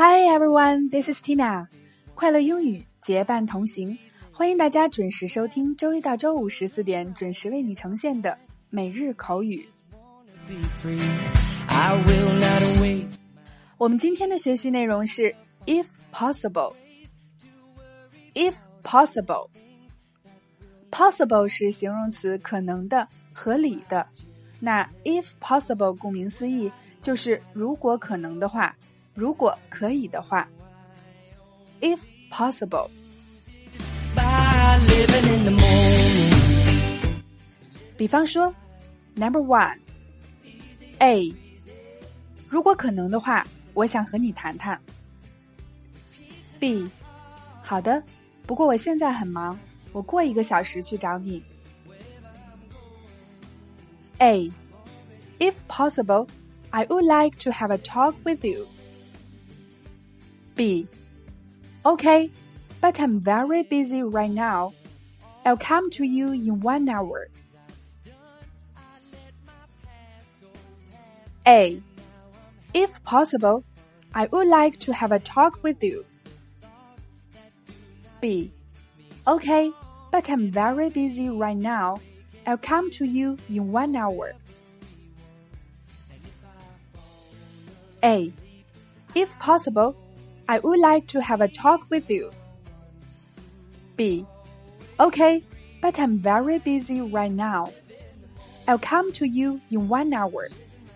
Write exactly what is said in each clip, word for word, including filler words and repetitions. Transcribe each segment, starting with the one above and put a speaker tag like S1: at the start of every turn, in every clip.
S1: Hi everyone, this is Tina. 快乐英语结伴同行，欢迎大家准时收听周一到周五十四点准时为你呈现的每日口语。我们今天的学习内容是 if possible. If possible. Possible 是形容词，可能的、合理的。那 if possible 顾名思义就是如果可能的话，如果可以的话。If possible. 比方说 Number one A 如果可能的话，我想和你谈谈。 B 好的，不过我现在很忙，我过一个小时去找你。 A If possible, I would like to have a talk with you. B Okay, but I'm very busy right now. I'll come to you in one hour. A If possible, I would like to have a talk with you. B Okay, but I'm very busy right now. I'll come to you in one hour. A If possible, I would like to have a talk with you. B Okay, but I'm very busy right now. I'll come to you in one hour.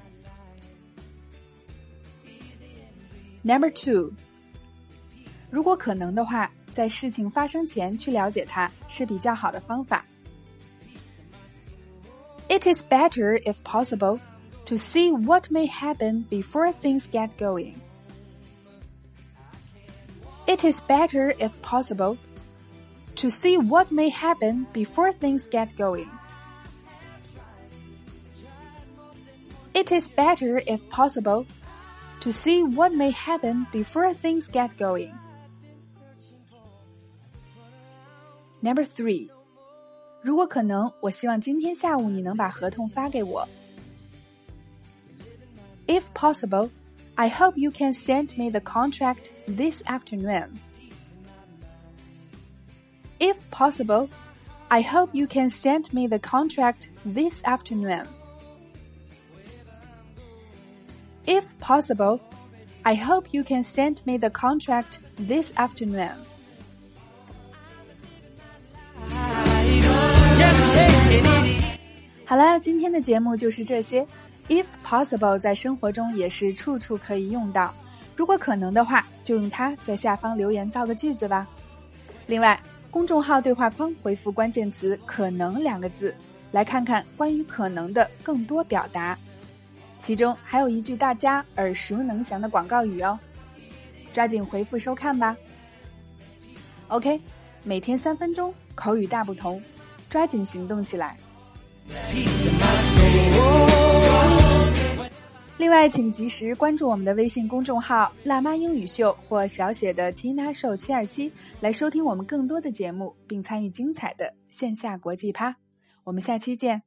S1: Number two. 如果可能的话，在事情发生前去了解它是比较好的方法。It is better, if possible, to see what may happen before things get going. It is better, if possible, to see what may happen before things get going. It is better, if possible, to see what may happen before things get going. Number three. 如果可能，我希望今天下午你能把合同发给我。If possible, I hope you can send me the contract this afternoon. If possible, I hope you can send me the contract this afternoon. If possible, I hope you can send me the contract this afternoon. 好了，今天的节目就是这些。If possible 在生活中也是处处可以用到，如果可能的话，就用它在下方留言造个句子吧。另外，公众号对话框回复关键词可能两个字，来看看关于可能的更多表达，其中还有一句大家耳熟能详的广告语哦，抓紧回复收看吧。 OK， 每天三分钟，口语大不同，抓紧行动起来。另外，请及时关注我们的微信公众号辣妈英语秀或小写的 Tina Show 七二七，来收听我们更多的节目，并参与精彩的线下国际趴。我们下期见。